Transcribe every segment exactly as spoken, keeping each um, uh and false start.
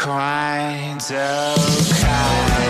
quite okay.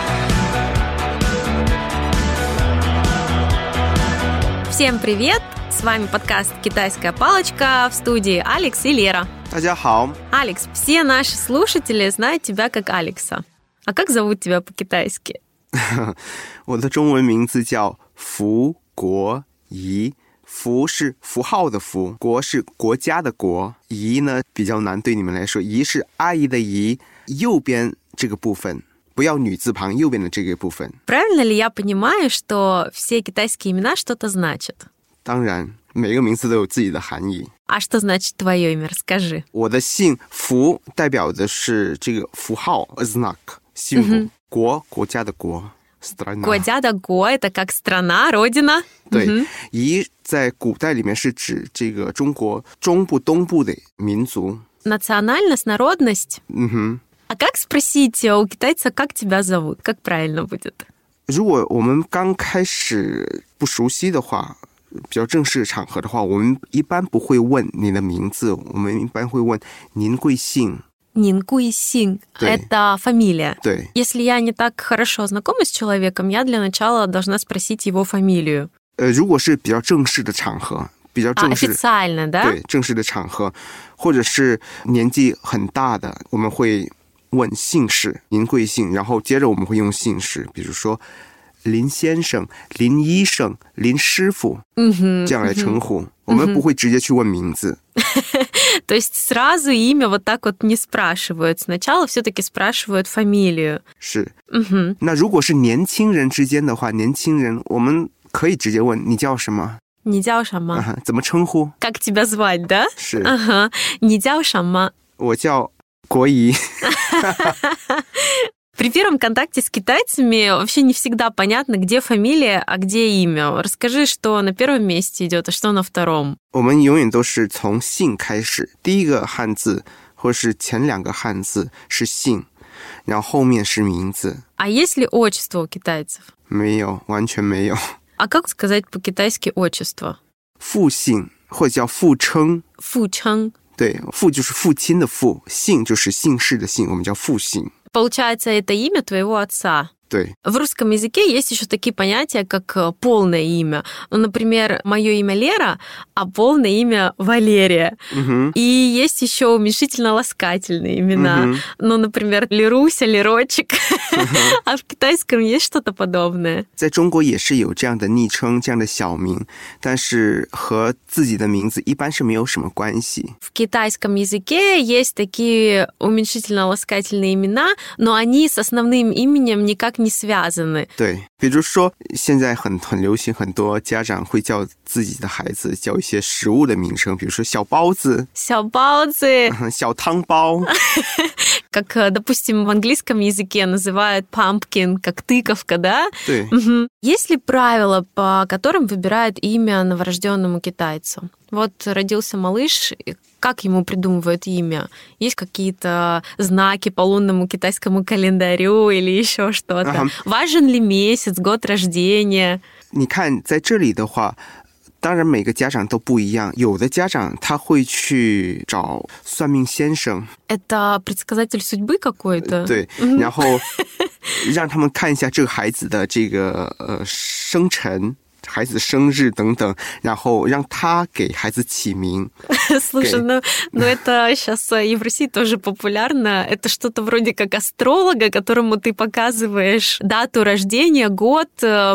Всем привет! С вами подкаст «Китайская палочка», в студии Алекс и Лера. 大家好。 Алекс, все наши слушатели знают тебя как Алекса. А как зовут тебя по-китайски? 我的中文名字叫福国仪，福是符号的福，国是国家的国，仪呢比较难对你们来说，仪是阿姨的仪，右边这个部分，不要女字旁，右边的这个部分。 Правильно ли я понимаю, что все китайские имена что-то значат? 当然，每个名字都有自己的含义。 А что значит твое имя? Расскажи. 我的姓福代表的是这个符号 знак символ， 国国家的国。 国家的国 это как страна, родина. 对，仪在古代里面是指这个中国中部东部的民族。 Национальность, народность. 嗯哼。 А как спросить у китайца, как тебя зовут? Как правильно будет? 如果我们刚开始不熟悉的话，比较正式的场合的话，我们一般不会问你的名字，我们一般会问您贵姓。 Нин Гуй Син. Это фамилия. 对。 Если я не так хорошо знакома с человеком, я для начала должна спросить его фамилию. 呃，如果是比较正式的场合，比较 А, 正式， официально, да? 对，正式的场合，或者是年纪很大的，我们会问姓氏，您贵姓，然后接着我们会用姓氏，比如说林先生、林医生、林师傅， Мгм, 这样来称呼，我们不会直接去问名字。 То есть сразу имя вот так вот не спрашивают. Сначала все-таки спрашивают фамилию. 是。 Мгм. 那如果是年轻人之间的话，年轻人我们可以直接问你叫什么， Не叫什么? 啊，怎么称呼？ Как тебя звать, да? 是。 Ага. Не叫什么? 我叫国仪。 При первом контакте с китайцами вообще не всегда понятно, где фамилия, а где имя. Расскажи, что на первом месте идет, а что на втором. 我们永远都是从姓开始，第一个汉字或是前两个汉字是姓，然后后面是名字。 А есть ли отчество у китайцев? 没有，完全没有。 А как сказать по-китайски отчество? 父姓或者叫父称。 Фу Чang. 对，父就是父亲的父，姓就是姓氏的姓，我们叫父姓。 Получается, это имя твоего отца. 对。 В русском языке есть еще такие понятия, как полное имя. Ну, например, мое имя Лера, а полное имя Валерия. Угу. И есть еще уменьшительно-ласкательные имена. Угу. Ну, например, Леруся, Лерочек. Угу. А в китайском есть что-то подобное? 在中国也是有这样的昵称，这样的小名，但是和自己的名字一般是没有什么关系。 В китайском языке есть такие уменьшительно-ласкательные имена, но они с основным именем никак не связаны. 对，比如说现在很很流行，很多家长会叫自己的孩子叫一些食物的名称，比如说小包子、 小包子、 小汤包。 Как, допустим, в английском языке называют pumpkin, как тыковка, да? 对。 Угу. Есть ли правила, по которым выбирают имя новорожденному китайцу? Вот родился малыш, как ему придумывают имя? Есть какие-то знаки по лунному китайскому календарю или еще что-то? Ага. Важен ли месяц, год рождения? 你看在这里的话，当然每个家长都不一样，有的家长他会去找算命先生。 Это предсказатель судьбы какой-то? 对，然后让他们看一下这个孩子的这个呃生辰。 孩子生日等等，然后让他给孩子起名。 Слушай, ну, ну это сейчас и в России тоже популярно. Это что-то вроде как астролога, которому ты показываешь дату рождения, год,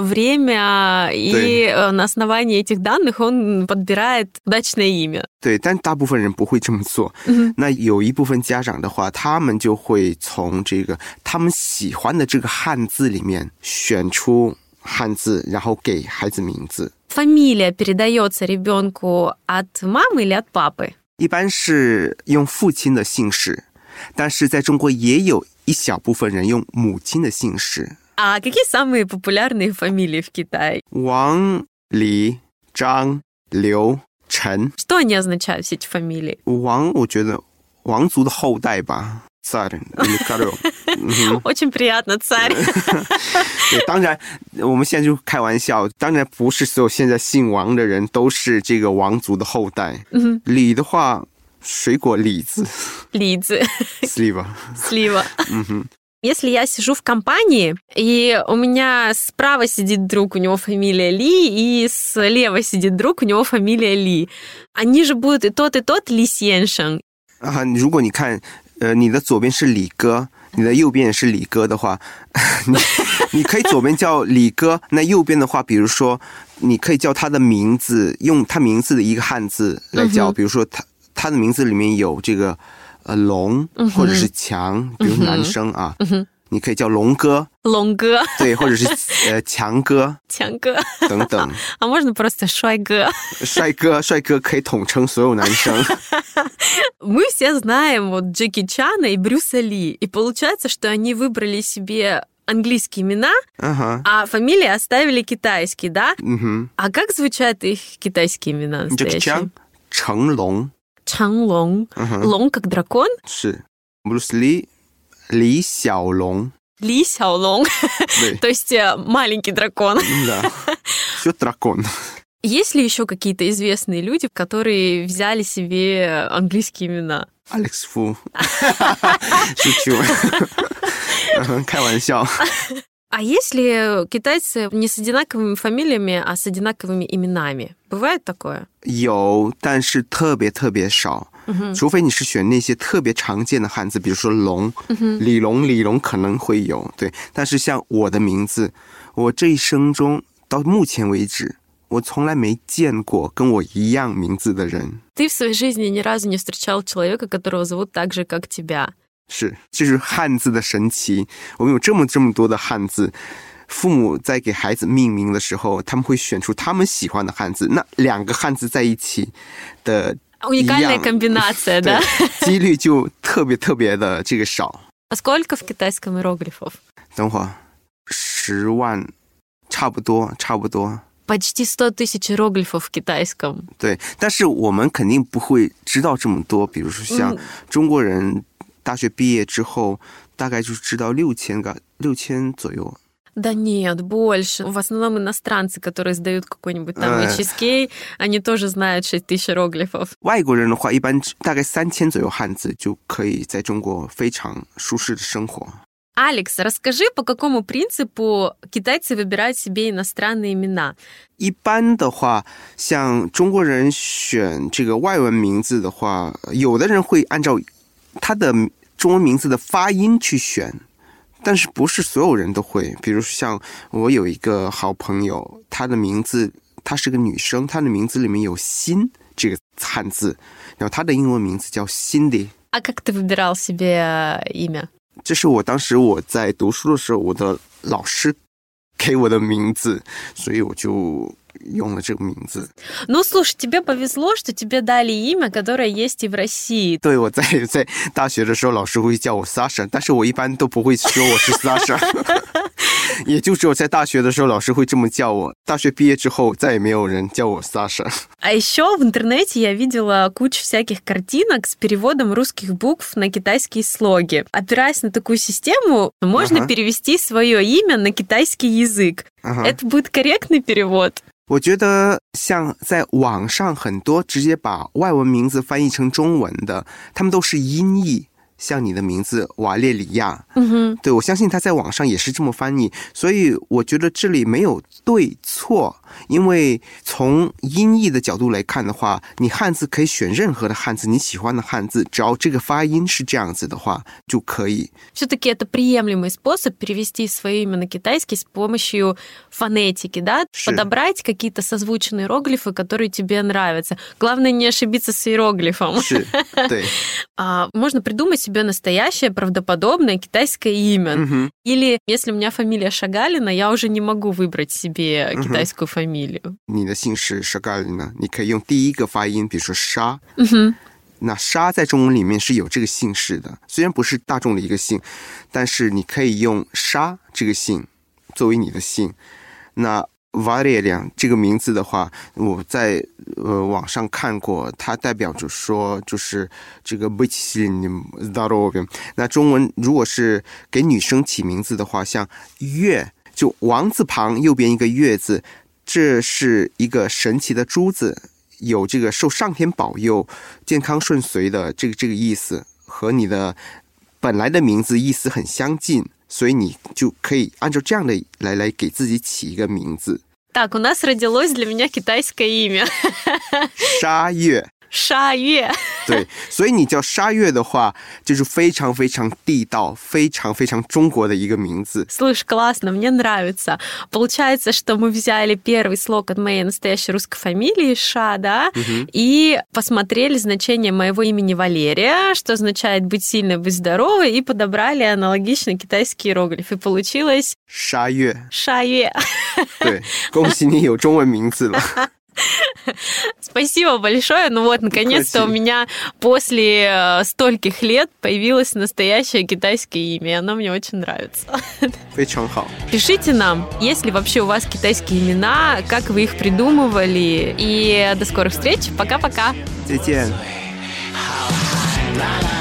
время, и да. На основании этих данных он подбирает удачное имя. 对，但大部分人不会这么做。嗯、那有一部分家长的话，他们就会从这个他们喜欢的这个汉字里面选出 汉字，然后给孩子名字。 Фамилия передается ребенку от мамы или от папы? 一般是用父亲的姓氏，但是在中国也有一小部分人用母亲的姓氏。 А какие самые популярные фамилии в Китае? 王、李、张、刘、陈。 Что они означают, все эти фамилии? 王，我觉得王族的后代吧。 царь или король. Очень приятно, царь. 对，当然我们现在就开玩笑，当然不是所有现在姓王的人都是这个王族的后代。李的话， 水果李子李子 слива. слива. Мгм. Если я сижу в компании, и у меня справа сидит друг, у него фамилия Ли, и слева сидит друг, у него фамилия Ли, они же будут и тот, и тот Ли Сеншен. 啊，如果你看，呃，你的左边是李哥，你的右边也是李哥的话，你你可以左边叫李哥，那右边的话，比如说，你可以叫他的名字，用他名字的一个汉字来叫， 嗯哼比如说他他的名字里面有这个呃龙， 嗯哼或者是强，比如男生啊， 嗯哼你可以叫龙哥， 龙哥对，或者是呃强哥强哥等等。 啊можно просто帅哥帅哥，帅哥可以统称所有男生。 Мы все знаем вот Джеки Чана и Брюса Ли, и получается, что они выбрали себе английские имена, Ага. а фамилии оставили китайские, да? Мгм. А как звучат их китайские имена Джеки настоящие? Чан, 成龙 Чанлong. Ага. Лонг как дракон? 是 Брюс Ли, 李小龙 Ли Сяолонг. 对 То есть э, маленький дракон. да. Все дракон. Есть ли еще какие-то известные люди, которые взяли себе английские имена? Алекс Фу. шучу. Ага, 开玩笑。 А есть ли китайцы не с одинаковыми фамилиями, а с одинаковыми именами? Бывает такое? 有，但是特别特别少。 嗯除非你是选那些特别常见的汉字，比如说龙，李龙，李龙可能会有，对。但是像我的名字，我这一生中到目前为止，我从来没见过跟我一样名字的人。 Ты в своей жизни ни разу не встречал человека, которого зовут так же, как тебя. 是，这是汉字的神奇。我们有这么这么多的汉字，父母在给孩子命名的时候，他们会选出他们喜欢的汉字。那两个汉字在一起的 Уникальная комбинация, 对 да? 几率就特别特别的这个少。 А сколько в китайском иероглифов? 等会儿，十万，差不多，差不多。 Почти сто тысяч иероглифов в китайском. 对，但是我们肯定不会知道这么多。比如说像中国人大学毕业之后，大概就知道六千个，六千左右。 Да нет, больше. В основном иностранцы, которые сдают какой-нибудь там эйч эс кей, они тоже знают шесть тысяч иероглифов. 外国人的话，一般大概三千左右汉字就可以在中国非常舒适的生活。 Алекс, расскажи, по какому принципу китайцы выбирают себе иностранные имена? 一般的话，像中国人选这个外文名字的话，有的人会按照他的中文名字的发音去选，但是不是所有人都会。比如像我有一个好朋友，她的名字，她是个女生，她的名字里面有心这个汉字，然后她的英文名字叫 Cindy。 А как ты выбирал себе имя? 这是我当时我在读书的时候，我的老师给我的名字，所以我就用了这个名字。 Ну, слушай, тебе повезло, что тебе дали имя, которое есть и в России. 对，我在在大学的时候，老师会叫我 Sasha， 但是我一般都不会说我是 Sasha， 也就只有在大学的时候，老师会这么叫我。大学毕业之后，再也没有人叫我 Sasha。 А еще в интернете я видела кучу всяких картинок с переводом русских букв на китайские слоги. Опираясь на такую систему, можно Ага. перевести свое имя на китайский язык. Ага. Это будет корректный перевод? 我觉得像在网上很多直接把外文名字翻译成中文的，他们都是音译。像你的名字瓦列里亚， 嗯对，我相信他在网上也是这么翻译，所以我觉得这里没有对错，因为从音译的角度来看的话，你汉字可以选任何的汉字，你喜欢的汉字，只要这个发音是这样子的话就可以。 Все-таки это приемлемый способ перевести свое имя на китайский с помощью фонетики, да? Ши. Подобрать какие-то созвучные иероглифы, которые тебе нравятся. Главное не ошибиться с иероглифом. 是，对， А, можно придумать себе настоящее, правдоподобное китайское имя. 嗯哼， Или если у меня фамилия Шагалина, я уже не могу выбрать себе Мгм. китайскую фамилию. 你的姓氏沙嘎里呢，你可以用第一个发音，比如说沙。 Мгм. 那沙在中文里面是有这个姓氏的，虽然不是大众的一个姓，但是你可以用沙这个姓作为你的姓。那 Valeria 这个名字的话，我在呃网上看过，它代表着说就是这个 быть сильным здоровым。那中文如果是给女生起名字的话，像月，就王字旁右边一个月字，这是一个神奇的珠子。 有这个受上天保佑、健康顺遂的这个这个意思，和你的本来的名字意思很相近，所以你就可以按照这样的来来给自己起一个名字。 Так, у нас родилось для меня китайское имя. 沙月。 沙月。 对，所以你叫沙月的话，就是非常非常地道、非常非常中国的一个名字。 Слушай, классно, мне нравится. Получается, что мы взяли первый слог от моей настоящей русской фамилии Ша, да, угу. и посмотрели значение моего имени Валерия, что означает быть сильной, быть здоровой, и подобрали аналогично китайский иероглиф. И получилось... 沙月。 沙月。 对，恭喜你有中文名字了。 Спасибо большое. Ну вот, наконец-то у меня после стольких лет появилось настоящее китайское имя, и оно мне очень нравится. 非常好。 Пишите нам, есть ли вообще у вас китайские имена, как вы их придумывали. И до скорых встреч. Пока-пока. 再见。